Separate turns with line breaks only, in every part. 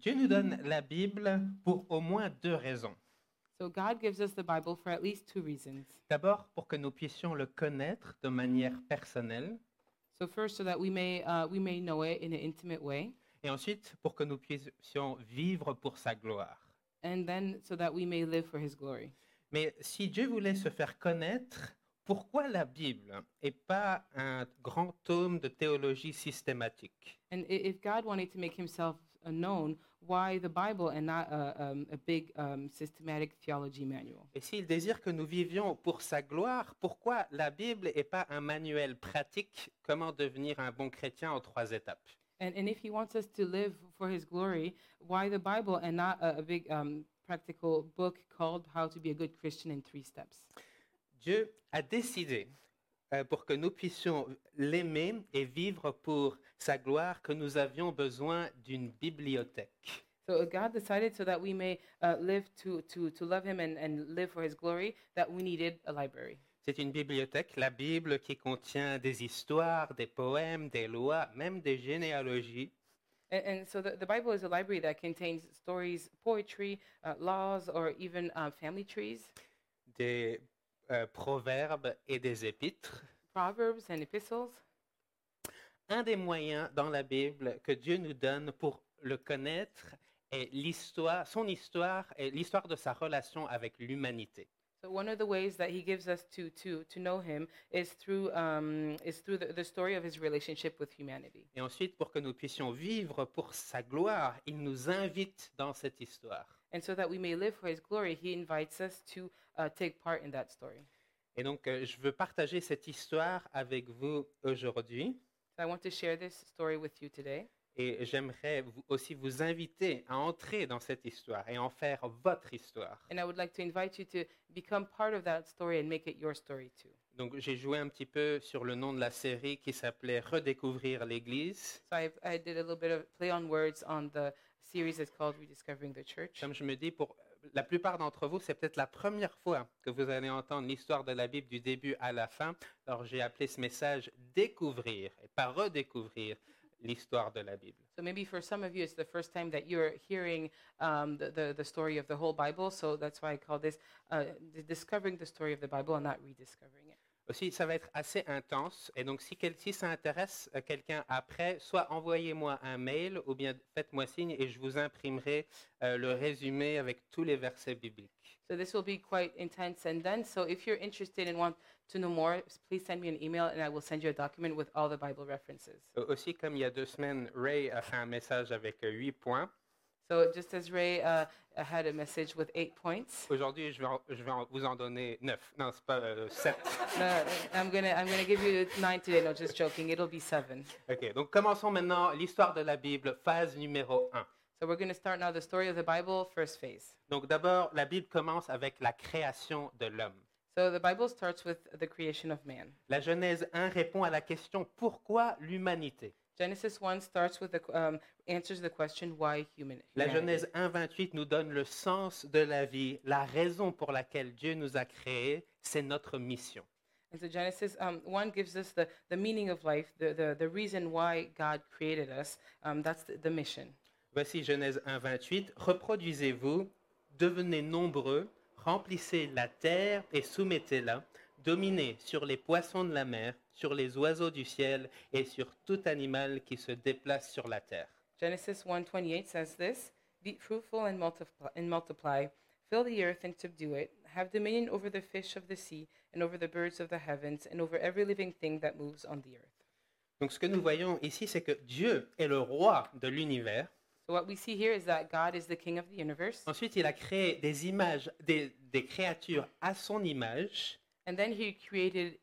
Dieu nous donne la Bible pour au moins deux raisons.
So God gives us the Bible for at least two reasons.
D'abord, pour que nous puissions le connaître de manière personnelle,
So first, so that we may know it in an intimate way,
et ensuite, pour que nous puissions vivre pour sa gloire.
and then so that we may live for His glory.
Mais si Dieu voulait se faire connaître, pourquoi la Bible et pas un grand tome de théologie systématique?
And if God wanted to make Himself known, why the Bible and not a big systematic theology manual?
Et s'il désire que nous vivions pour sa gloire, pourquoi la Bible et pas un manuel pratique comment devenir un bon chrétien en 3 étapes?
And if He wants us to live for His glory, why the Bible and not a big practical book called How to Be a Good Christian in 3 Steps?
Dieu a décidé, pour que nous puissions l'aimer et vivre pour sa gloire, que nous avions besoin d'une bibliothèque.
So God decided so that we may live to love Him and live for His glory, that we needed a library.
C'est une bibliothèque, la Bible, qui contient des histoires, des poèmes, des lois, même des généalogies.
And so the Bible is a library that contains stories, poetry, laws, or even family trees,
Des proverbes et des épîtres.
proverbs, and epistles.
Un des moyens dans la Bible que Dieu nous donne pour le connaître est son histoire et l'histoire de sa relation avec l'humanité.
So one of the ways that He gives us to know Him is through the story of His relationship with humanity.
Et ensuite, pour que nous puissions vivre pour sa gloire, il nous invite dans cette histoire.
And so that we may live for His glory, He invites us to take part in that story.
Et donc, je veux partager cette histoire avec vous aujourd'hui.
So I want to share this story with you today.
Et j'aimerais aussi vous inviter à entrer dans cette histoire et en faire votre histoire.
And I would like to invite you to become part of that story and make it your story too.
Donc, j'ai joué un petit peu sur le nom de la série qui s'appelait Redécouvrir l'Église.
So I did a little bit of play on words on the series that's called Rediscovering the Church.
Comme je me dis, pour la plupart d'entre vous, c'est peut-être la première fois que vous allez entendre l'histoire de la Bible du début à la fin. Alors, j'ai appelé ce message Découvrir et pas Redécouvrir l'histoire de la Bible.
So maybe for some of you, it's the first time that you're hearing the story of the whole Bible. So that's why I call this discovering the story of the Bible and not rediscovering it.
Aussi, ça va être assez intense. Et donc, si ça intéresse quelqu'un après, soit envoyez-moi un mail ou bien faites-moi signe et je vous imprimerai le résumé avec tous les versets bibliques.
So this will be quite intense and dense. So if you're interested and want to know more, please send me an email and I will send you a document with all the Bible references.
Aussi, comme il y a 2 semaines, Ray a fait un message avec 8 points.
So just as Ray had a message with 8 points,
Aujourd'hui, je vais vous en donner 9. Non, c'est pas 7.
I'm gonna give you 9 today. No, just joking. It'll be 7.
OK, donc commençons maintenant l'histoire de la Bible, phase numéro 1.
So we're going to start now the story of the Bible, first phase.
Donc d'abord, la Bible commence avec la création de l'homme.
So the Bible starts with the creation of man.
La Genèse 1 répond à la question « Pourquoi l'humanité ?»
Genesis 1 starts with answers the question why
La
humanity.
Genèse 1:28 nous donne le sens de la vie, la raison pour laquelle Dieu nous a créés, c'est notre mission.
And so Genesis 1 gives us the meaning of life, the reason why God created us. That's the mission.
Voici Genèse 1:28. Reproduisez-vous, devenez nombreux, remplissez la terre et soumettez-la, dominez sur les poissons de la mer, sur les oiseaux du ciel et sur tout animal qui se déplace sur la terre.
Genesis 1:28 says this: Be fruitful and multiply, fill the earth and subdue it, have dominion over the fish of the sea and over the birds of the heavens and over every living thing that moves on the earth.
Donc ce que nous voyons ici, c'est que Dieu est le roi de l'univers.
So what we see here is that God is the king of the universe.
Ensuite, il a créé des images, des créatures à son image
And then he created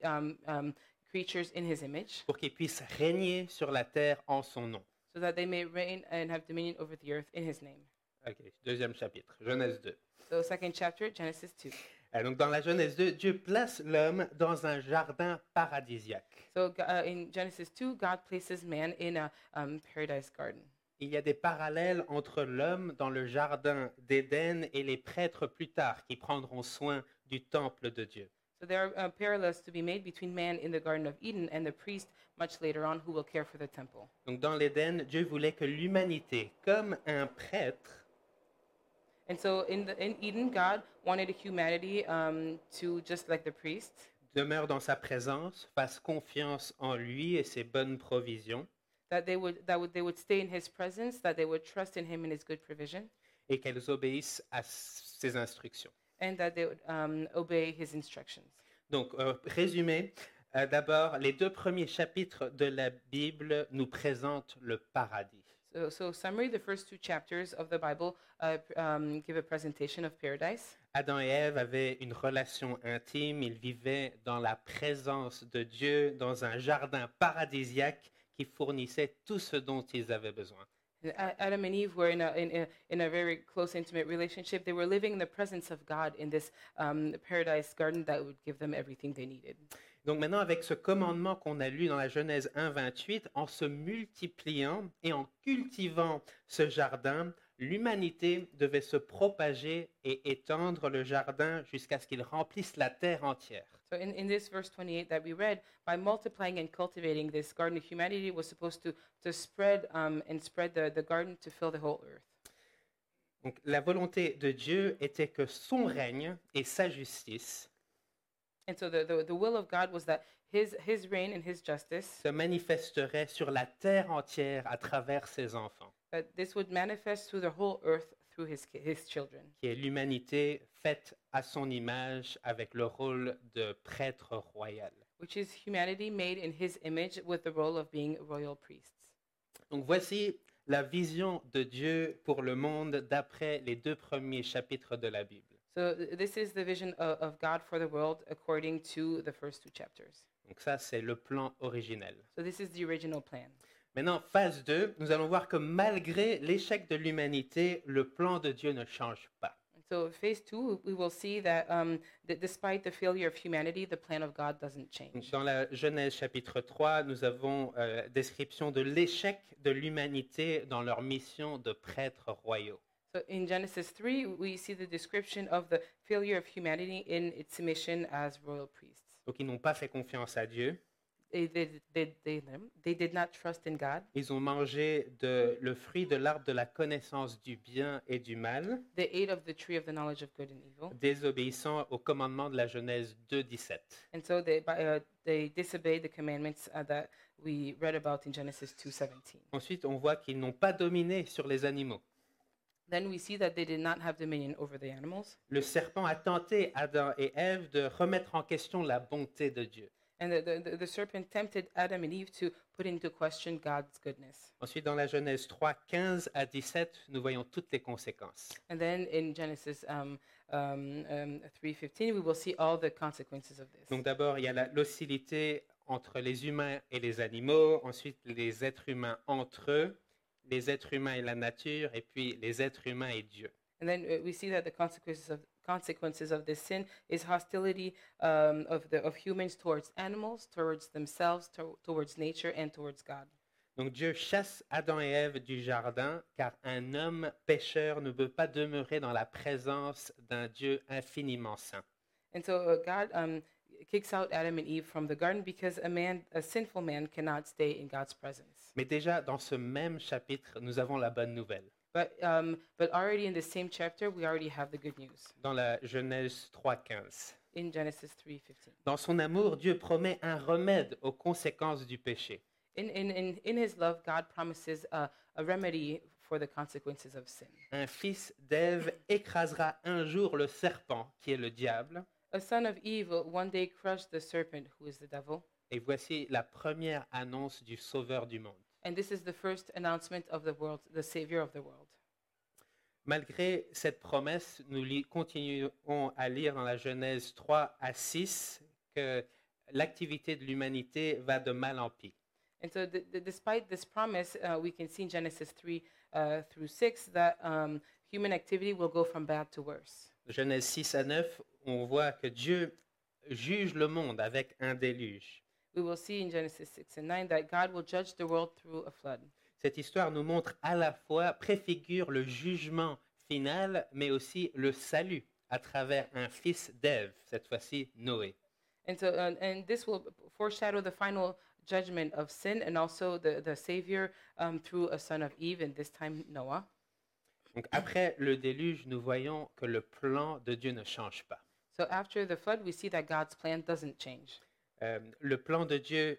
creatures in his image
pour qu'ils puissent régner sur la terre en son nom.
so that they may reign and have dominion over the earth in his name.
Ok, deuxième chapitre, Genèse 2.
So second chapter, Genesis 2.
Donc dans la Genèse 2, Dieu place l'homme dans un jardin paradisiaque.
So in Genesis 2, God places man in a paradise garden.
Il y a des parallèles entre l'homme dans le jardin d'Éden et les prêtres plus tard qui prendront soin du temple de Dieu.
So there are parallels to be made between man in the Garden of Eden and the priest much later on who will care for the temple.
Donc dans l'Éden, Dieu voulait que l'humanité, comme un prêtre,
And so in Eden, God wanted humanity to, just like the priest,
demeure dans sa présence, fasse confiance en lui et ses bonnes provisions,
that they would stay in his presence, that they would trust in him and his good provision,
et qu'elles obéissent à ses instructions.
and that they would obey his instructions.
Donc, résumé, d'abord, les 2 premiers chapitres de la Bible nous présentent le paradis.
So summary, the first 2 chapters of the Bible give a presentation of paradise.
Adam et Ève avaient une relation intime, ils vivaient dans la présence de Dieu, dans un jardin paradisiaque qui fournissait tout ce dont ils avaient besoin.
Adam and Eve were in a very close, intimate relationship. They were living in the presence of God in this paradise garden that would give them everything they needed.
Donc maintenant, avec ce commandement qu'on a lu dans la Genèse 1:28, en se multipliant et en cultivant ce jardin, l'humanité devait se propager et étendre le jardin jusqu'à ce qu'il remplisse la terre entière.
So in this verse 28 that we read, by multiplying and cultivating this garden, humanity was supposed to spread the garden to fill the whole earth.
Donc la volonté de Dieu était que son règne et sa justice
And so the will of God was that his reign and his justice,
se manifesteraient sur la terre entière à travers ses enfants,
that this would manifest through the whole earth through his children,
qui est l'humanité faite à son image avec le rôle de prêtre royal.
which is humanity made in his image with the role of being royal priests.
Donc voici la vision de Dieu pour le monde d'après les 2 premiers chapitres de la Bible.
So this is the vision of God for the world according to the first 2 chapters.
Donc ça, c'est le plan originel.
So this is the original plan.
Maintenant, phase 2, nous allons voir que malgré l'échec de l'humanité, le plan de Dieu ne change pas.
So phase 2, we will see that despite the failure of humanity, the plan of God doesn't change.
Dans la Genèse chapitre 3, nous avons description de l'échec de l'humanité dans leur mission de prêtres royaux.
So in Genesis 3, we see the description of the failure of humanity in its mission as royal priests.
Donc ils n'ont pas fait confiance à Dieu.
They did not trust in God.
Ils ont mangé le fruit de l'arbre de la connaissance du bien et du mal,
They ate of the tree of the knowledge of good and evil.
désobéissant au commandement de la Genèse 2:17.
And so they disobeyed the commandments that we read about in Genesis 2:17.
Ensuite, on voit qu'ils n'ont pas dominé sur les animaux.
Then we see that they did not have dominion over the animals.
Le serpent a tenté Adam et Ève de remettre en question la bonté de Dieu.
And the serpent tempted Adam and Eve to put into question God's goodness.
Ensuite, dans la Genèse 3, 15 à 17, nous voyons toutes les conséquences.
And then in Genesis 3:15, we will see all the consequences of this.
Donc d'abord, il y a l'hostilité entre les humains et les animaux, ensuite les êtres humains entre eux, les êtres humains et la nature, et puis les êtres humains et Dieu.
And then we see that the consequences of this sin is hostility of humans towards animals, towards themselves, towards nature, and towards God.
Donc Dieu chasse Adam et Ève du jardin, car un homme pécheur ne peut pas demeurer dans la présence d'un Dieu infiniment saint.
And so God kicks out Adam and Eve from the garden because a sinful man cannot stay in God's presence.
Mais déjà, dans ce même chapitre, nous avons la bonne nouvelle.
But already in the same chapter, we already have the good news.
Dans la Genèse 3:15.
In Genesis 3:15.
Dans son amour, Dieu promet un remède aux conséquences du péché.
In his love, God promises a remedy for the consequences of sin.
Un fils d'Ève écrasera un jour le serpent, qui est le diable.
A son of evil one day crushed the serpent, who is the devil.
Et voici la première annonce du Sauveur du monde.
And this is the first announcement of the world, the Savior of the world.
Malgré cette promesse, nous continuons à lire dans la Genèse 3 à 6 que l'activité de l'humanité va de mal en pis.
And so despite this promise, we can see in Genesis 3 through 6 that human activity will go from bad to worse.
Genèse 6 à 9, on voit que Dieu juge le monde avec un déluge.
We will see in Genesis 6 and 9 that God will judge the world through a flood.
Cette histoire nous montre à la fois, préfigure le jugement final, mais aussi le salut à travers un fils d'Ève, cette fois-ci Noé.
And this will foreshadow the final judgment of sin and also the Savior through a son of Eve, and this time Noah.
Donc après le déluge, nous voyons que le plan de Dieu ne change pas.
So after the flood, we see that God's plan doesn't change.
Le plan de Dieu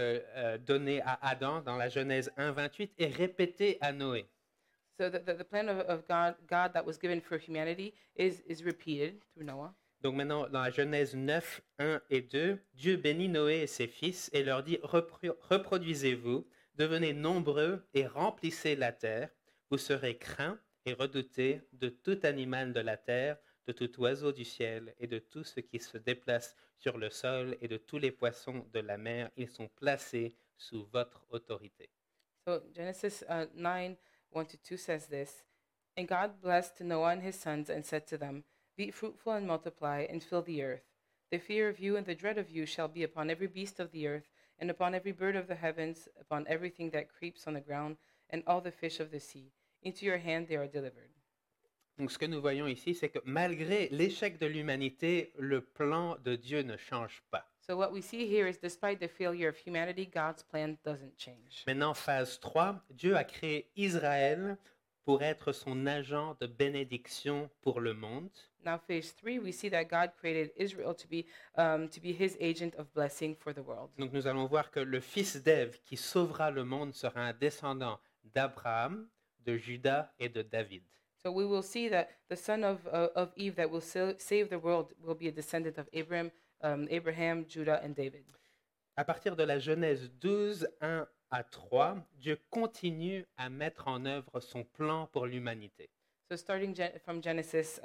donné à Adam dans la Genèse 1:28 est répété à Noé.
So the plan of God that was given for humanity is repeated through Noah.
Donc maintenant, dans la Genèse 9, 1 et 2, Dieu bénit Noé et ses fils et leur dit, reproduisez-vous, devenez nombreux et remplissez la terre. Vous serez craints et redoutés de tout animal de la terre, de tout oiseau du ciel et de tout ce qui se déplace sur le sol et de tous les poissons de la mer. Ils sont placés sous votre autorité.
So Genesis 9, 1-2 says this, And God blessed Noah and his sons and said to them, Be fruitful and multiply and fill the earth. The fear of you and the dread of you shall be upon every beast of the earth, and upon every bird of the heavens, upon everything that creeps on the ground, and all the fish of the sea. Into your hand they are delivered.
Donc ce que nous voyons ici, c'est que malgré l'échec de l'humanité, le plan de Dieu ne change pas.
So what we see here is despite the failure of humanity, God's plan doesn't change.
Maintenant, phase 3, Dieu a créé Israël pour être son agent de bénédiction pour le monde.
Now, phase 3, we see that God created Israel to be his agent of blessing for the world.
Donc nous allons voir que le fils d'Ève qui sauvera le monde sera un descendant d'Abraham, de Juda et de David.
So we will see that the son of Eve that will save the world will be a descendant of Abraham, Judah, and David.
À partir de la Genèse 12, 1 à 3, Dieu continue à mettre en œuvre son plan pour l'humanité.
So starting from Genesis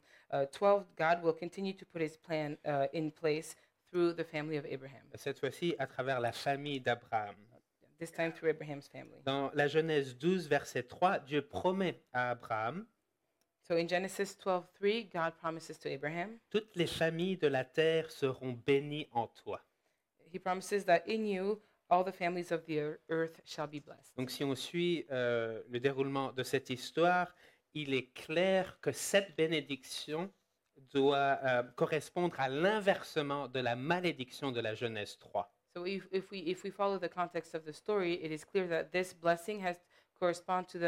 12, God will continue to put his plan in place through the family of Abraham.
Cette fois-ci, à travers la famille d'Abraham.
This time through Abraham's family.
Dans la Genèse 12, verset 3, Dieu promet à Abraham
So in Genesis 12:3, God promises to Abraham,
toutes les familles de la terre seront bénies en toi.
he promises that in you all the families of the earth shall be blessed.
Donc si on suit le déroulement de cette histoire, il est clair que cette bénédiction doit correspondre à l'inversement de la malédiction de la Genèse 3.
So if we follow the context of the story, it is clear that this blessing has correspond to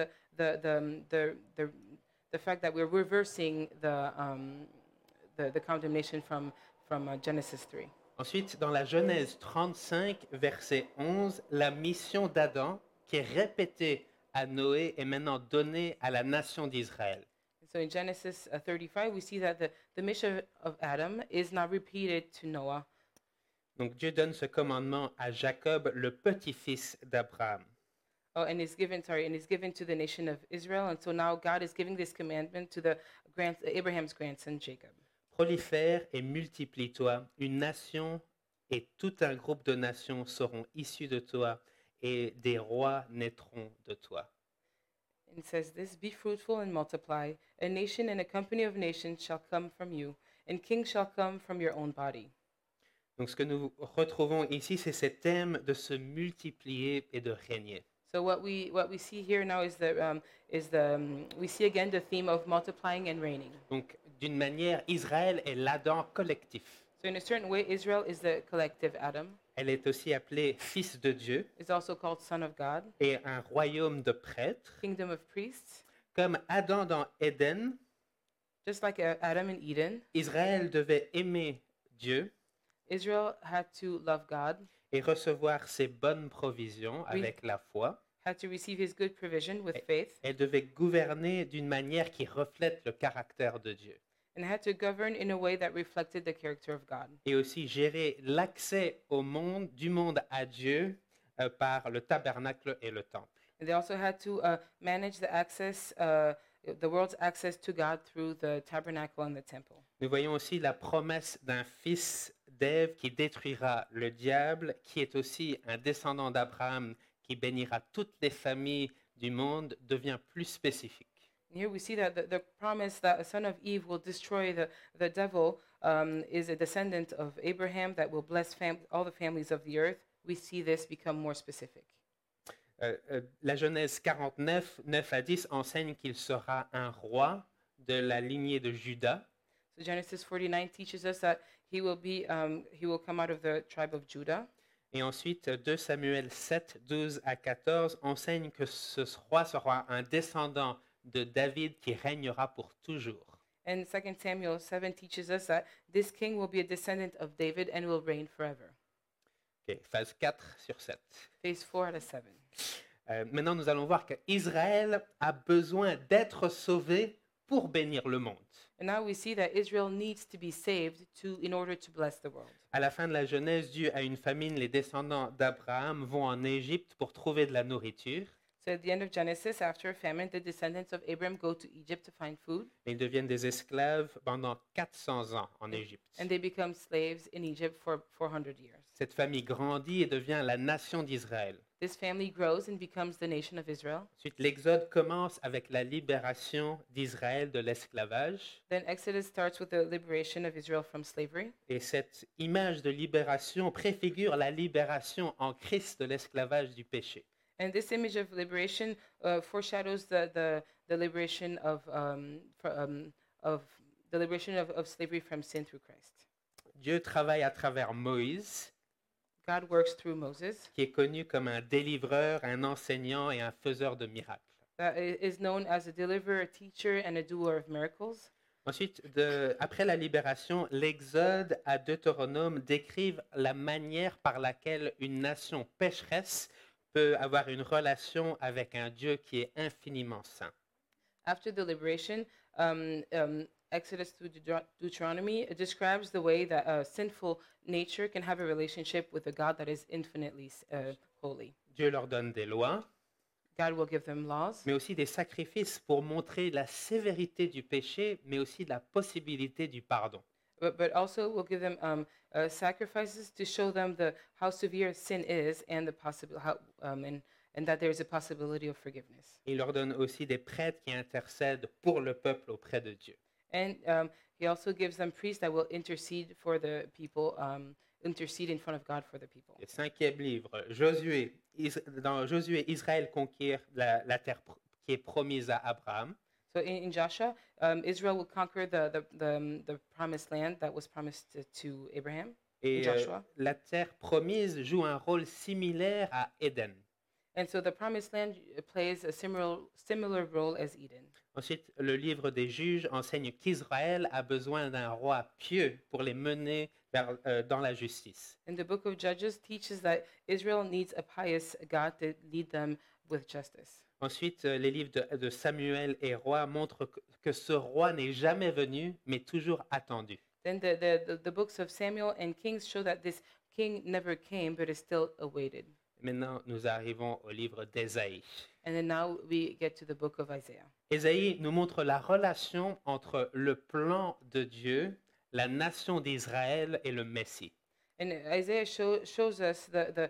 the fact that we're reversing the condemnation from Genesis 3.
Ensuite, dans la Genèse 35, verset 11, la mission d'Adam, qui est répétée à Noé, est maintenant donnée à la nation d'Israël.
So in Genesis 35, we see that the mission of Adam is now repeated to Noah.
Donc Dieu donne ce commandement à Jacob, le petit-fils d'Abraham.
Oh, and is given to the nation of Israel, and so now God is giving this commandment to Abraham's grandson Jacob.
Prolifère et multiplie-toi, une nation et tout un groupe de nations seront issus de toi, et des rois naîtront de toi.
It says this, Be fruitful and multiply. A nation and a company of nations shall come from you, and kings shall come from your own body.
Donc ce que nous retrouvons ici, c'est ce thème de se multiplier et de régner.
So what we see here now is we see again the theme of multiplying and reigning.
Donc d'une manière, Israël est l'Adam collectif.
So in a certain way, Israel is the collective Adam.
Elle est aussi appelée fils de Dieu
It's also called son of God,
et un royaume de prêtres.
kingdom of priests.
Comme Adam dans Éden,
Just like Adam in Eden,
Israël devait aimer Dieu
Israel had to love God,
et recevoir ses bonnes provisions avec la foi.
had to receive his good provision with faith,
Elle devait gouverner d'une manière qui reflète le caractère de Dieu.
and had to govern in a way that reflected the character of God.
Et aussi gérer l'accès au monde, du monde à Dieu, par le tabernacle et le temple.
And they also had to manage the world's access to God through the tabernacle and the temple.
Nous voyons aussi la promesse d'un fils d'Ève qui détruira le diable, qui est aussi un descendant d'Abraham qui bénira toutes les familles du monde, devient plus spécifique.
Here we see that the promise that a son of Eve will destroy the devil is a descendant of Abraham that will bless all the families of the earth. We see this become more specific.
La Genèse 49, 9 à 10 enseigne qu'il sera un roi de la lignée de Juda.
So Genesis 49 teaches us that he will come out of the tribe of Judah.
Et ensuite, 2 Samuel 7, 12 à 14 enseigne que ce roi sera un descendant de David qui régnera pour toujours.
And 2 Samuel 7 teaches us that this king will be a descendant of David and will reign forever.
Okay, phase 4 sur 7.
Phase 4 out of 7.
Maintenant, nous allons voir qu'Israël a besoin d'être sauvé pour bénir le monde.
And now we see that Israel needs to be saved in order to bless the world.
À la fin de la Genèse, dû à une famine, les descendants d'Abraham vont en Égypte pour trouver de la nourriture.
So at the end of Genesis, after a famine, the descendants of Abraham go to Egypt to find food,
Et ils deviennent des esclaves pendant 400 ans en Égypte.
and they become slaves in Egypt for 400 years.
Cette famille grandit et devient la nation d'Israël.
This family grows and becomes the nation of Israel.
Ensuite, l'Exode commence avec la libération d'Israël de l'esclavage.
Then Exodus starts with the liberation of Israel from slavery.
Et cette image de libération préfigure la libération en Christ de l'esclavage du péché.
And this image of liberation foreshadows the liberation of slavery from sin through Christ.
Dieu travaille à travers Moïse,
God works through Moses,
qui est connu comme un délivreur, un enseignant et un faiseur de miracles.
that is known as a deliverer, a teacher, and a doer of miracles.
Ensuite, après la libération, l'Exode à Deutéronome décrivent la manière par laquelle une nation pécheresse peut avoir une relation avec un Dieu qui est infiniment saint.
After the liberation, Exodus through Deuteronomy it describes the way that a sinful nature can have a relationship with a God that is infinitely holy.
Dieu leur donne des lois,
God will give them laws,
mais aussi des sacrifices pour montrer la sévérité du péché, mais aussi la possibilité du pardon.
but also will give them sacrifices to show them how severe sin is and and that there is a possibility of forgiveness.
Il leur donne aussi des prêtres qui intercèdent pour le peuple auprès de Dieu.
And he also gives them priests that will intercede for the people, intercede in front of God for the people.
Le 5e livre, dans Josué, Israël conquiert la terre qui est promise à Abraham.
So in Joshua, Israel will conquer the promised land that was promised to Abraham.
Et
Joshua.
la terre promise joue un rôle similaire à Éden.
And so the promised land plays a similar role as Eden.
Ensuite, le livre des Juges enseigne qu'Israël a besoin d'un roi pieux pour les mener dans la justice.
And the book of Judges teaches that Israel needs a pious God to lead them with justice.
Ensuite, les livres de Samuel et Rois montrent que ce roi n'est jamais venu, mais toujours attendu.
Then the books of Samuel and Kings show that this king never came, but is still awaited.
Maintenant, nous arrivons au livre d'Ésaïe.
And then now we get to the book of Isaiah.
Ésaïe nous montre la relation entre le plan de Dieu, la nation d'Israël et le Messie.
And Isaiah shows us the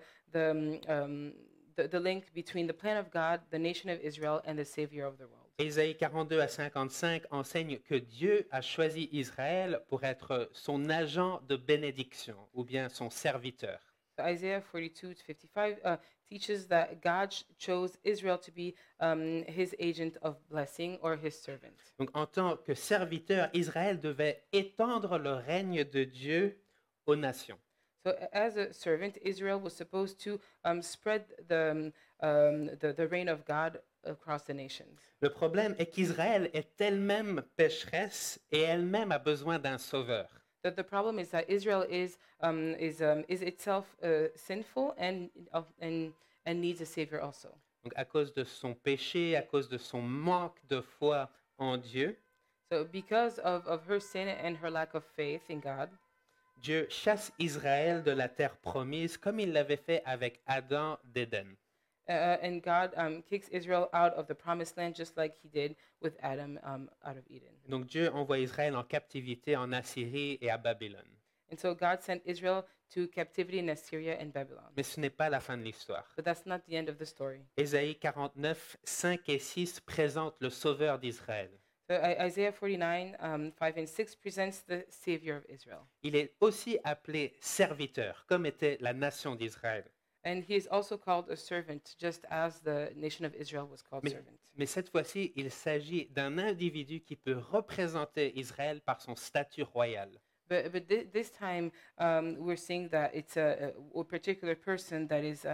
link between the plan of God, the nation of Israel, and the Savior of the world.
Ésaïe 42 à 55 enseigne que Dieu a choisi Israël pour être son agent de bénédiction ou bien son serviteur.
So Isaiah 42 to 55 teaches that God chose Israel to be his agent of blessing or his servant.
Donc, en tant que serviteur, Israël devait étendre le règne de Dieu aux nations.
So as a servant, Israel was supposed to spread the reign of God across the nations.
Le problème est qu'Israël est elle-même pécheresse et elle-même a besoin d'un sauveur.
The problem is that Israel is itself sinful and needs a savior also.
Donc, à cause de son péché, à cause de son manque de foi en Dieu,
So because of her sin and her lack of faith in God,
Dieu chasse Israël de la terre promise comme il l'avait fait avec Adam d'Éden.
and God kicks Israel out of the promised land just like he did with Adam out of Eden.
Donc Dieu envoie Israël en captivité en Assyrie et à Babylone.
And so God sent Israel to captivity in Assyria and Babylon.
Mais ce n'est pas la fin de l'histoire.
But that's not the end of the story.
Ésaïe 49, 5 et 6 présentent le sauveur d'Israël.
So Isaiah 49, 5 and 6 presents the Savior of Israel.
Il est aussi appelé serviteur, comme était la nation d'Israël.
And he is also called a servant, just as the nation of Israel was called
Mais,
servant.
mais cette fois-ci, il s'agit d'un individu qui peut représenter Israël par son statut royal.
But this time, we're seeing that it's a particular person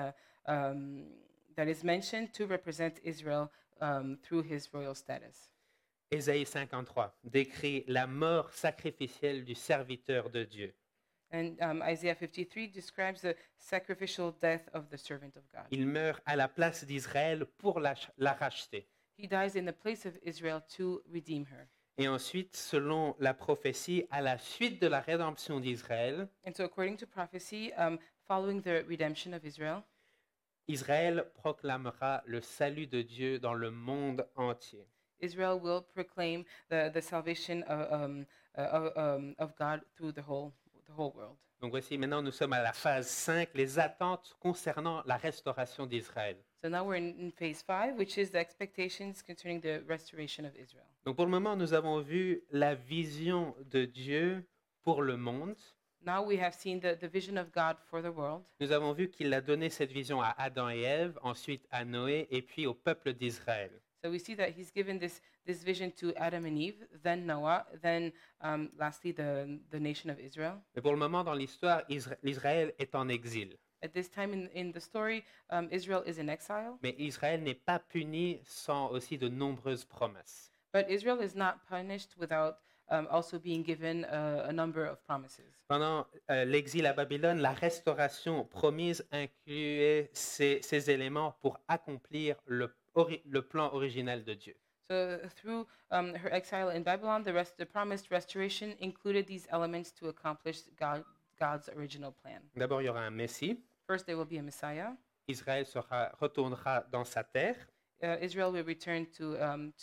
that is mentioned to represent Israel through his royal status.
Ésaïe 53 décrit la mort sacrificielle du serviteur de Dieu.
And Isaiah 53 describes the sacrificial death of the servant of God.
Il meurt à la place d'Israël pour la racheter.
He dies in the place of Israel to redeem her.
Et ensuite, selon la prophétie, à la suite de la rédemption d'Israël,
And so, according to prophecy, following the redemption of Israel,
Israël proclamera le salut de Dieu dans le monde entier.
Israel will proclaim the salvation of God through the whole world.
Donc voici, maintenant nous sommes à la phase 5, les attentes concernant la restauration d'Israël.
So now we're in phase 5, which is the expectations concerning the restoration of Israel.
Donc pour le moment, nous avons vu la vision de Dieu pour le monde.
Now we have seen the vision of God for the world.
Nous avons vu qu'il a donné cette vision à Adam et Ève, ensuite à Noé et puis au peuple d'Israël.
So we see that he's given this vision to Adam and Eve, then Noah, then lastly the nation of Israel.
Mais pour le moment, dans l'histoire, l'Israël est en exil.
At this time in the story, Israel is in exile,
Mais Israël n'est pas puni sans aussi de nombreuses promesses.
but Israel is not punished without also being given a number of promises.
Pendant l'exil à Babylone, la restauration promise incluait ces éléments pour accomplir le plan original de Dieu.
So through her exile in Babylon, the promised restoration included these elements to accomplish God's original plan.
D'abord, il y aura un Messie.
First, there will be a Messiah.
Israël retournera dans sa terre.
Israel will return to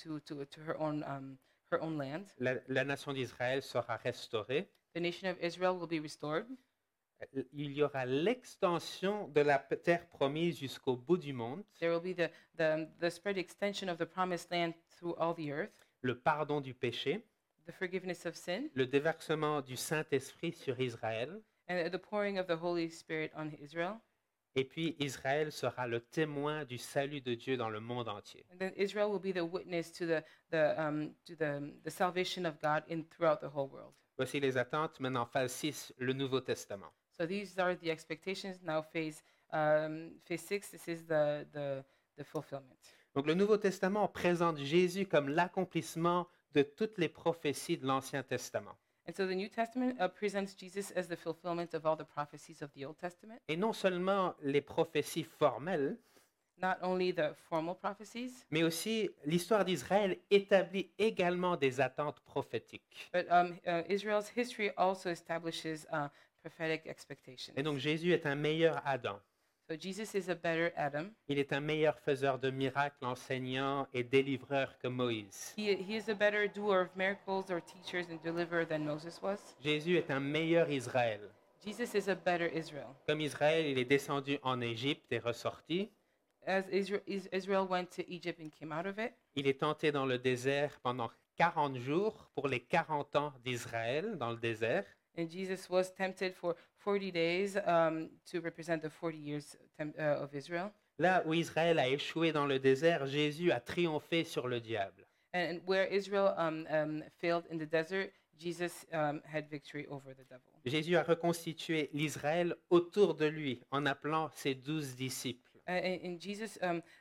her own land.
La nation d'Israël sera restaurée.
The nation of Israel will be restored.
Il y aura l'extension de la terre promise jusqu'au bout du monde,
There will be the spread extension of the promised land through all the earth,
le pardon du péché,
the forgiveness of sin,
le déversement du Saint-Esprit sur Israël,
and the pouring of the Holy Spirit on Israel.
et puis Israël sera le témoin du salut de Dieu dans le monde entier.
And then Israel will be the witness to the salvation of God throughout the whole world.
Voici les attentes. Maintenant, phase 6, le Nouveau Testament.
So these are the expectations. Now phase 6, this is the fulfillment.
Donc le Nouveau Testament présente Jésus comme l'accomplissement de toutes les prophéties de l'Ancien Testament.
And so the New Testament presents Jesus as the fulfillment of all the prophecies of the Old Testament.
Et non seulement les prophéties formelles,
Not only the formal prophecies,
mais aussi l'histoire d'Israël établit également des attentes prophétiques.
but Israel's history also establishes prophetic expectations.
Et donc Jésus est un meilleur Adam.
So Jesus is a better Adam.
Il est un meilleur faiseur de miracles, enseignant et délivreur que Moïse.
He is a better doer of miracles or teachers and deliverer than Moses was.
Jésus est un meilleur Israël.
Jesus is a better Israel.
Comme Israël, il est descendu en Égypte et ressorti.
As Israel went to Egypt and came out of it,
Il est tenté dans le désert pendant 40 jours pour les 40 ans d'Israël dans le désert.
and Jesus was tempted for 40 days to represent the 40 years of Israel.
Là où Israël a échoué dans le désert, Jésus a triomphé sur le diable.
And where Israel failed in the desert, Jesus had victory over the devil.
Jésus a reconstitué l'Israël autour de lui en appelant ses 12 disciples.
And Jesus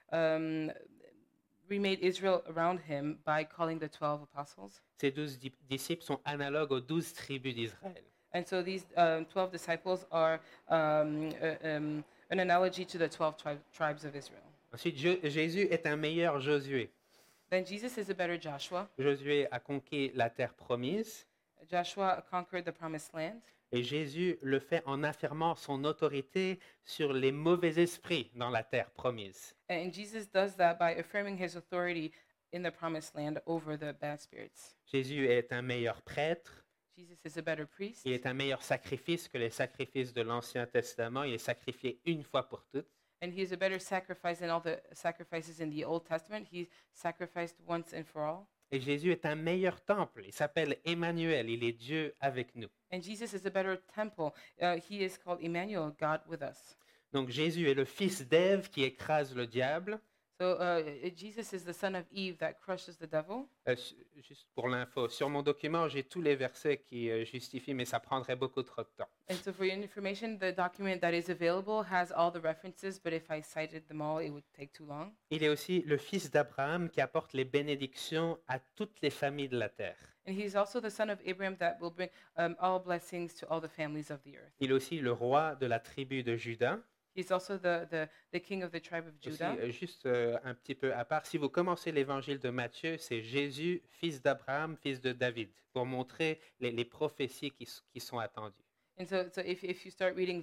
remade Israel around him by calling the 12 apostles.
Ces 12 disciples sont analogues aux 12 tribus d'Israël.
And so these 12 disciples are an analogy to the 12 tribes of Israel.
Ensuite, Jésus est un meilleur Josué.
Then Jesus is a better Joshua.
Josué a conquis la terre promise
Joshua conquered the promised land.
et Jésus le fait en affirmant son autorité sur les mauvais esprits dans la terre promise.
And Jesus does that by affirming his authority in the promised land over the bad spirits.
Jésus est un meilleur prêtre.
Jesus is a better priest.
Il est un meilleur sacrifice que les sacrifices de l'Ancien Testament. Il est sacrifié une fois pour toutes.
And he is a better sacrifice than all the sacrifices in the Old Testament. He sacrificed once and for all.
Et Jésus est un meilleur temple. Il s'appelle Emmanuel. Il est Dieu avec nous.
And Jesus is a better temple. He is called Emmanuel, God with us.
Donc Jésus est le fils d'Ève qui écrase le diable.
So Jesus is the son of Eve that crushes the devil.
Juste pour l'info, sur mon document, j'ai tous les versets qui justifient, mais ça prendrait beaucoup trop de temps.
And so for your information, the document that is available has all the references, but if I cited them all, it would take too long.
Il est aussi le fils d'Abraham qui apporte les bénédictions à toutes les familles de la terre.
And he's also the son of Abraham that will bring all blessings to all the families of the earth.
Il est aussi le roi de la tribu de Juda.
He's also the king of the tribe of
Aussi,
Judah.
juste un petit peu à part, si vous commencez l'évangile de Matthieu, c'est Jésus, fils d'Abraham, fils de David, pour montrer les prophéties qui sont attendues.
And so if you start reading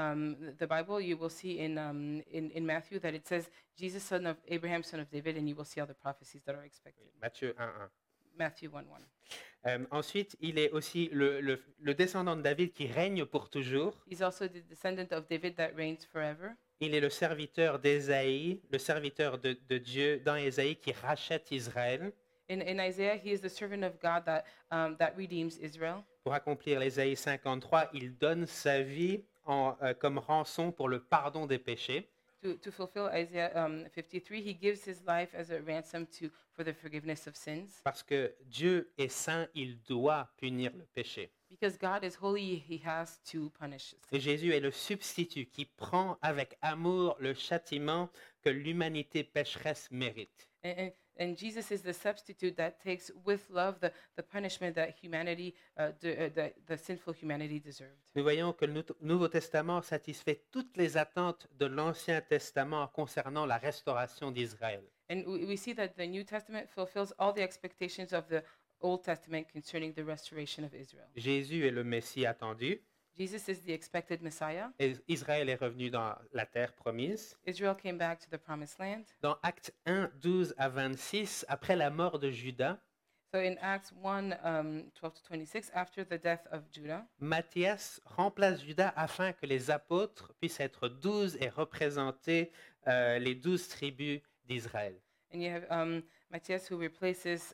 the Bible, you will see in Matthew that it says Jesus, son of Abraham, son of David, and you will see all the prophecies that are expected.
Matthieu 1:1.
Matthew 1:1.
Ensuite, il est aussi le descendant de David qui règne pour toujours.
He's also the descendant of David that reigns forever.
Il est le serviteur d'Ésaïe, le serviteur de Dieu dans Ésaïe qui rachète Israël
In Isaiah, he is the servant of God that redeems Israel.
pour accomplir l'Ésaïe 53. Il donne sa vie comme rançon pour le pardon des péchés.
To fulfill Isaiah 53, he gives his life as a ransom for the forgiveness of sins.
Parce que Dieu est saint, il doit punir le péché.
Because God is holy, he has to punish sin.
Et Jésus est le substitut qui prend avec amour le châtiment que l'humanité pécheresse mérite.
And Jesus is the substitute that takes with love the punishment that humanity, the sinful humanity deserved.
Nous voyons que le Nouveau Testament satisfait toutes les attentes de l'Ancien Testament concernant la restauration d'Israël.
And we see that the New Testament fulfills all the expectations of the Old Testament concerning the restoration of Israel.
Jésus est le Messie attendu.
Jesus is the expected Messiah.
Et Israël est revenu dans la terre promise.
Israel came back to the promised land.
Dans Actes 1, 12 à 26, après la mort de Judas,
So in Acts 1, 12 to 26, after the death of Judah,
Matthias remplace Judas afin que les apôtres puissent être 12 et représenter les 12 tribus d'Israël.
and you have Matthias who replaces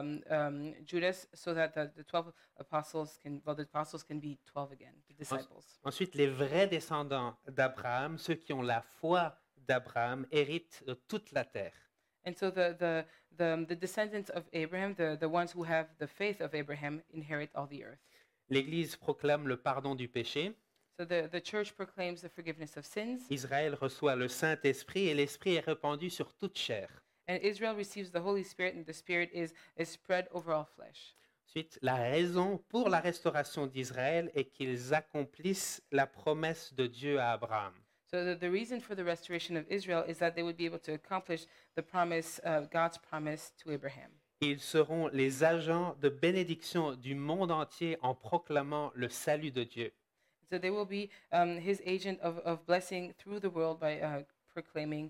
Judas so that the 12 apostles can be 12 again, the disciples.
Ensuite, les vrais descendants d'Abraham, ceux qui ont la foi d'Abraham, héritent de toute la terre.
And so the descendants of Abraham, the ones who have the faith of Abraham, inherit all the earth.
L'Église proclame le pardon du péché.
So the church proclaims the forgiveness of sins,
Israël reçoit le Saint-Esprit et l'Esprit est répandu sur toute chair.
and Israel receives the Holy Spirit, and the Spirit is spread over all flesh.
Ensuite, la raison pour la restauration d'Israël est qu'ils accomplissent la promesse de Dieu à Abraham.
So the reason for the restoration of Israel is that they would be able to accomplish the promise, God's promise to Abraham.
Ils seront les agents de bénédiction du monde entier en proclamant le salut de Dieu.
So they will be his agent of blessing through the world by proclaiming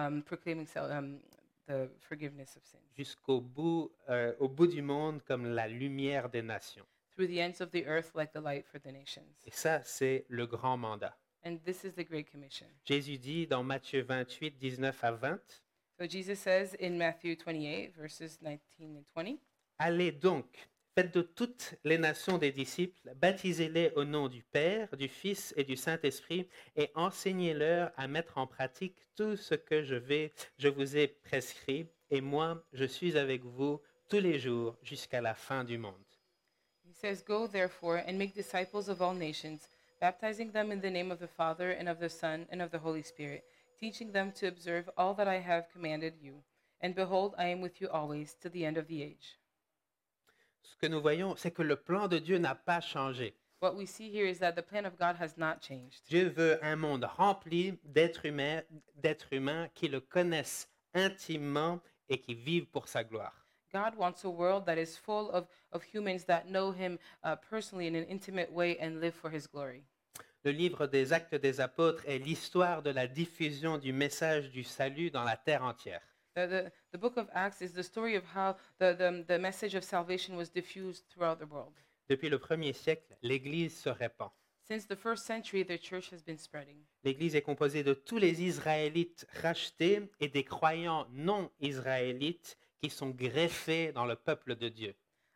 the forgiveness of sins
Jusqu'au bout, au bout du monde comme la lumière des nations.
through the ends of the earth like the light for the nations.
Et ça, c'est le grand mandat.
And this is the Great Commission.
Jésus dit dans Matthieu 28, 19 à 20,
So Jesus says in Matthew 28, verses 19 and 20,
allez donc, faites de toutes les nations des disciples, baptisez-les au nom du Père, du Fils et du Saint-Esprit, et enseignez-leur à mettre en pratique tout ce que je vous ai prescrit, et moi, je suis avec vous tous les jours jusqu'à la fin du monde.
he says, "Go therefore and make disciples of all nations, baptizing them in the name of the Father and of the Son and of the Holy Spirit, teaching them to observe all that I have commanded you. And behold, I am with you always to the end of the age."
Ce que nous voyons, c'est que le plan de Dieu n'a pas changé.
What we see here is that the plan of God has not changed.
Dieu veut un monde rempli d'êtres humains qui le connaissent intimement et qui vivent pour sa gloire.
God wants a world that is full of humans that know him personally in an intimate way and live for his glory.
Le livre des Actes des Apôtres est l'histoire de la diffusion du message du salut dans la terre entière.
The book of Acts is the story of how the message of salvation was diffused throughout the world.
Depuis le 1er siècle, l'Église se répand.
Since the first century, the church has been spreading.
L'Église est composée de tous les Israélites rachetés et des croyants non israélites qui sont greffés dans le peuple de Dieu.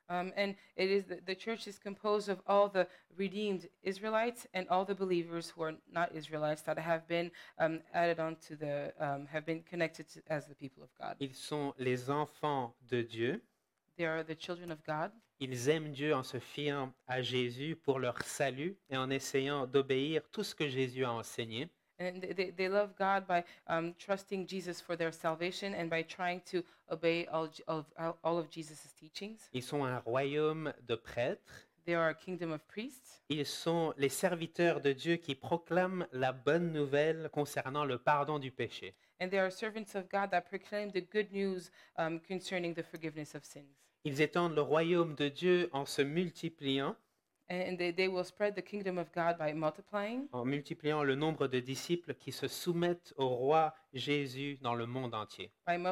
And it is the church is composed of all the redeemed Israelites and all the believers who are not Israelites that have been added on to have been connected to, as the people of God.
Ils sont les enfants de Dieu.
They are the children of God.
Ils aiment Dieu en se fiant à Jésus pour leur salut et en essayant d'obéir tout ce que Jésus a enseigné.
And they love God by trusting Jesus for their salvation and by trying to obey all of Jesus' teachings.
Ils sont un royaume de prêtres.
They are a kingdom of priests.
Ils sont les serviteurs de Dieu qui proclament la bonne nouvelle concernant le pardon du péché.
And they are servants of God that proclaim the good news concerning the forgiveness of sins.
Ils étendent le royaume de Dieu en se multipliant,
And they will spread the kingdom of God by multiplying,
en multipliant le nombre de disciples qui se soumettent au roi Jésus dans le monde entier.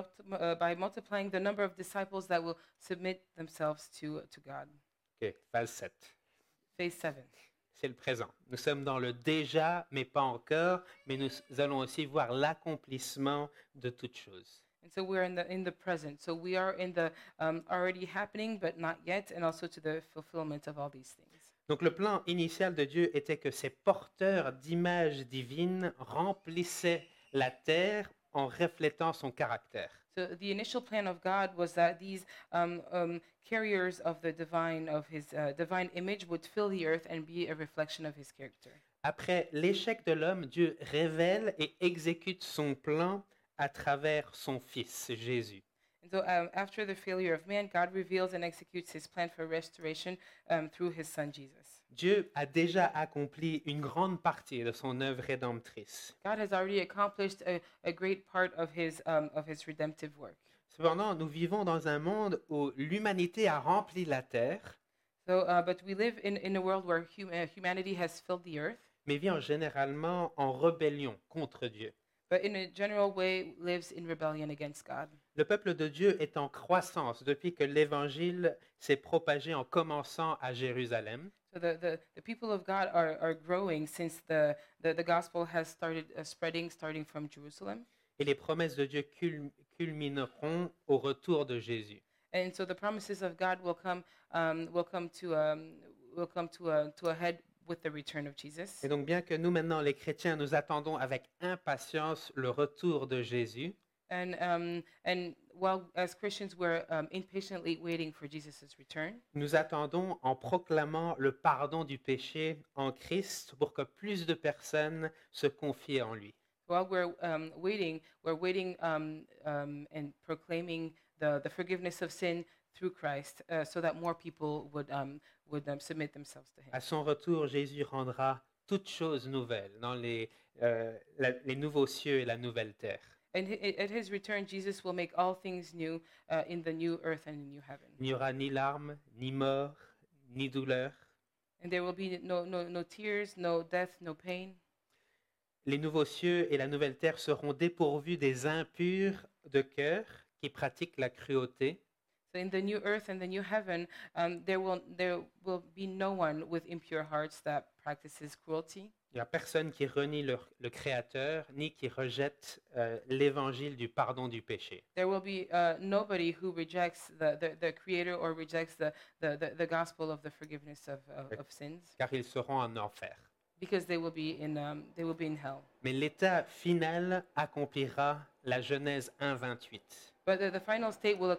by multiplying the number of disciples that will submit themselves to God.
Ok, phase 7.
Phase 7.
C'est le présent. Nous sommes dans le déjà, mais pas encore, mais nous allons aussi voir l'accomplissement de toutes choses.
And so we're in the present. So we are in the already happening, but not yet, and also to the fulfillment of all these things.
Donc le plan initial de Dieu était que ces porteurs d'images divines remplissaient la terre en reflétant son caractère.
So the initial plan of God was that these carriers of the divine, of His divine image, would fill the earth and be a reflection of His character.
Après l'échec de l'homme, Dieu révèle et exécute son plan à travers son Fils, Jésus.
And so after the failure of man, God reveals and executes His plan for restoration through His Son Jesus.
Dieu a déjà accompli une grande partie de son œuvre rédemptrice.
God has already accomplished a great part of His redemptive work.
Cependant, nous vivons dans un monde où l'humanité a rempli la terre,
So, but we live in a world where humanity has filled the earth,
mais vit généralement en rébellion contre Dieu.
but in a general way lives in rebellion against God.
Le peuple de Dieu est en croissance depuis que l'Évangile s'est propagé en commençant à Jérusalem.
So the people of God are growing since the gospel has started spreading, starting from Jerusalem.
Et les promesses de Dieu culmineront au retour de Jésus.
And so the promises of God will come to a head with the return of Jesus.
Et donc, bien que nous, maintenant, les chrétiens, nous attendons avec impatience le retour de Jésus,
And while as Christians we're impatiently waiting for Jesus' return,
nous attendons en proclamant le pardon du péché en Christ pour que plus de personnes se confient en lui.
while we're waiting and proclaiming the forgiveness of sin through Christ, so that more people would submit themselves to Him.
À son retour, Jésus rendra toutes choses nouvelles dans les nouveaux cieux et la nouvelle terre.
And at His return, Jesus will make all things new in the new earth and the new heaven.
Il n'y aura ni larmes, ni mort, ni douleur.
And there will be no tears, no death, no pain.
Les nouveaux cieux et la nouvelle terre seront dépourvus des impurs de cœur qui pratiquent la cruauté.
So in the new earth and the new heaven, there will be no one with impure hearts that practices cruelty.
Il n'y a personne qui renie le Créateur, ni qui rejette l'évangile du pardon du péché.
There will be nobody who rejects the Creator or rejects the gospel of the forgiveness of sins,
Car ils seront en enfer.
because they will be in hell.
Mais l'état final accomplira la Genèse 1:28.
But the final state will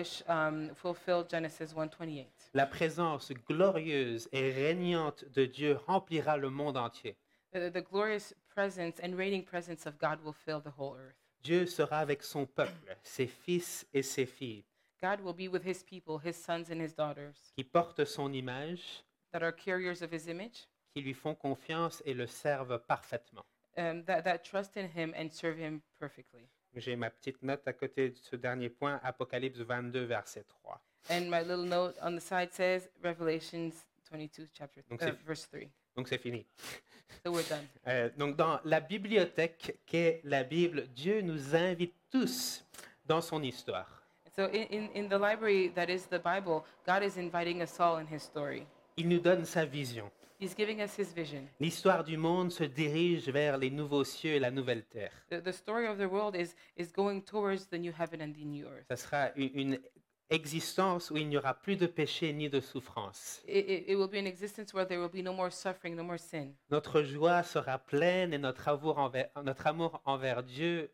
fulfill Genesis 1:28.
La présence glorieuse et régnante de Dieu remplira le monde entier.
The glorious presence and reigning presence of God will fill the whole earth.
Dieu sera avec son peuple, ses fils et ses filles,
God will be with His people, His sons and His daughters,
qui portent son image,
that are carriers of His image,
qui lui font confiance et le servent parfaitement.
that trust in Him and serve Him perfectly.
J'ai ma petite note à côté de ce dernier point, Apocalypse 22, verset 3.
And my little note on the side says Revelations 22, verse 3.
Donc c'est fini.
So we're done.
Donc dans la bibliothèque qu'est la Bible, Dieu nous invite tous dans son histoire.
So in the library that is the Bible, God is inviting us all in His story.
Il nous donne sa vision.
He's giving us His vision.
L'histoire du monde se dirige vers les nouveaux cieux et la nouvelle terre.
The story of the world is going towards the new heaven and the new earth.
Ça sera une existence où il n'y aura plus de péché ni de souffrance.
It will be an existence where there will be no more suffering, no more sin.
Notre joie sera pleine et notre amour envers Dieu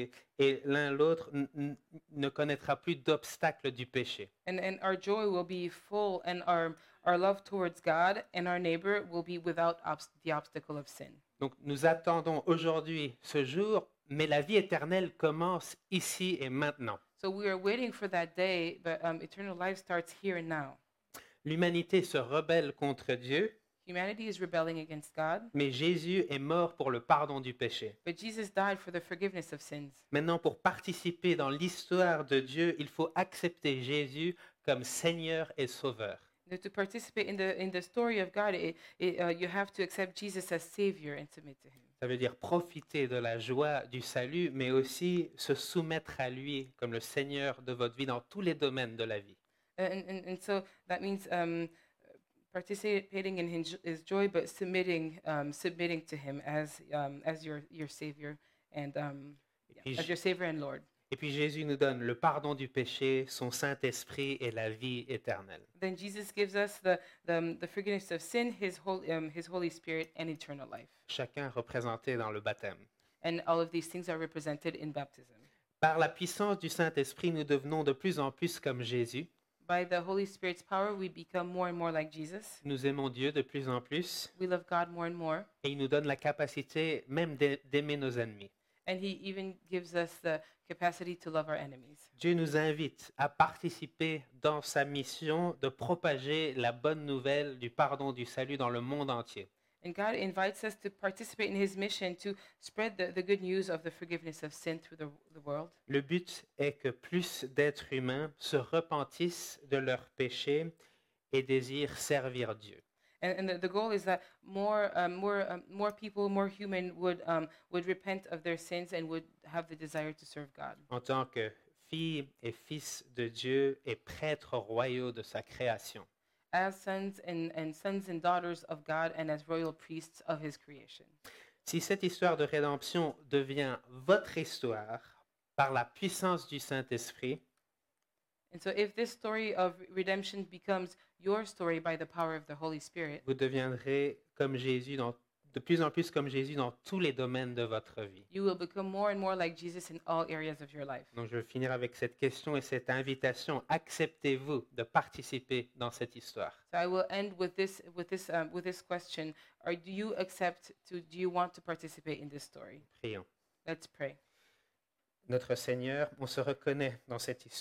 et l'un l'autre ne connaîtra plus d'obstacle du péché.
And our joy will be full, and our love towards God and our neighbor will be without the obstacle of sin.
Donc nous attendons aujourd'hui ce jour, mais la vie éternelle commence ici et maintenant.
So we are waiting for that day, but eternal life starts here and now.
L'humanité se rebelle contre Dieu,
Humanity is rebelling against God,
mais Jésus est mort pour le pardon du péché.
but Jesus died for the forgiveness of sins.
Maintenant, pour participer dans l'histoire de Dieu, il faut accepter Jésus comme Seigneur et Sauveur.
Now, to participate in the story of God, you have to accept Jesus as Savior and submit to Him.
Ça veut dire profiter de la joie du salut, mais aussi se soumettre à lui comme le Seigneur de votre vie dans tous les domaines de la vie.
And so that means participating in His joy, but submitting to Him as your Savior and
puis
as your Savior and Lord.
Et puis Jésus nous donne le pardon du péché, son Saint-Esprit et la vie éternelle.
Then Jesus gives us the forgiveness of sin, His Holy Spirit, and eternal life.
Chacun représenté dans le baptême.
And all of these things are represented in baptism.
Par la puissance du Saint-Esprit, nous devenons de plus en plus comme Jésus.
By the Holy Spirit's power, we become more and more like Jesus.
Nous aimons Dieu de plus en plus
We love God more and more.
et il nous donne la capacité même d'aimer nos ennemis.
And He even gives us the capacity to love our enemies.
Dieu nous invite à participer dans sa mission de propager la bonne nouvelle du pardon du salut dans le monde entier.
And God invites us to participate in His mission to spread the good news of the forgiveness of sin through the world.
Le but est que plus d'êtres humains se repentissent de leurs péchés et désirent servir Dieu.
And the goal is that more people, more human would repent of their sins and would have the desire to serve God.
En tant que filles et fils de Dieu et prêtres royaux de sa création.
As sons and daughters of God and as royal priests of His creation.
Si cette histoire de rédemption devient votre histoire par la puissance du Saint-Esprit,
And so if this story of redemption becomes your story by the power of the Holy Spirit,
vous deviendrez comme Jésus de plus en plus comme Jésus dans tous les domaines de votre vie.
you will become more and more like Jesus in all areas of your life.
Donc je vais finir avec cette question et cette invitation. Acceptez-vous de participer dans cette histoire?
So I will end with this question: do you want to participate in this story?
Prions.
Let's pray.
Notre Seigneur, on se reconnaît dans cette histoire.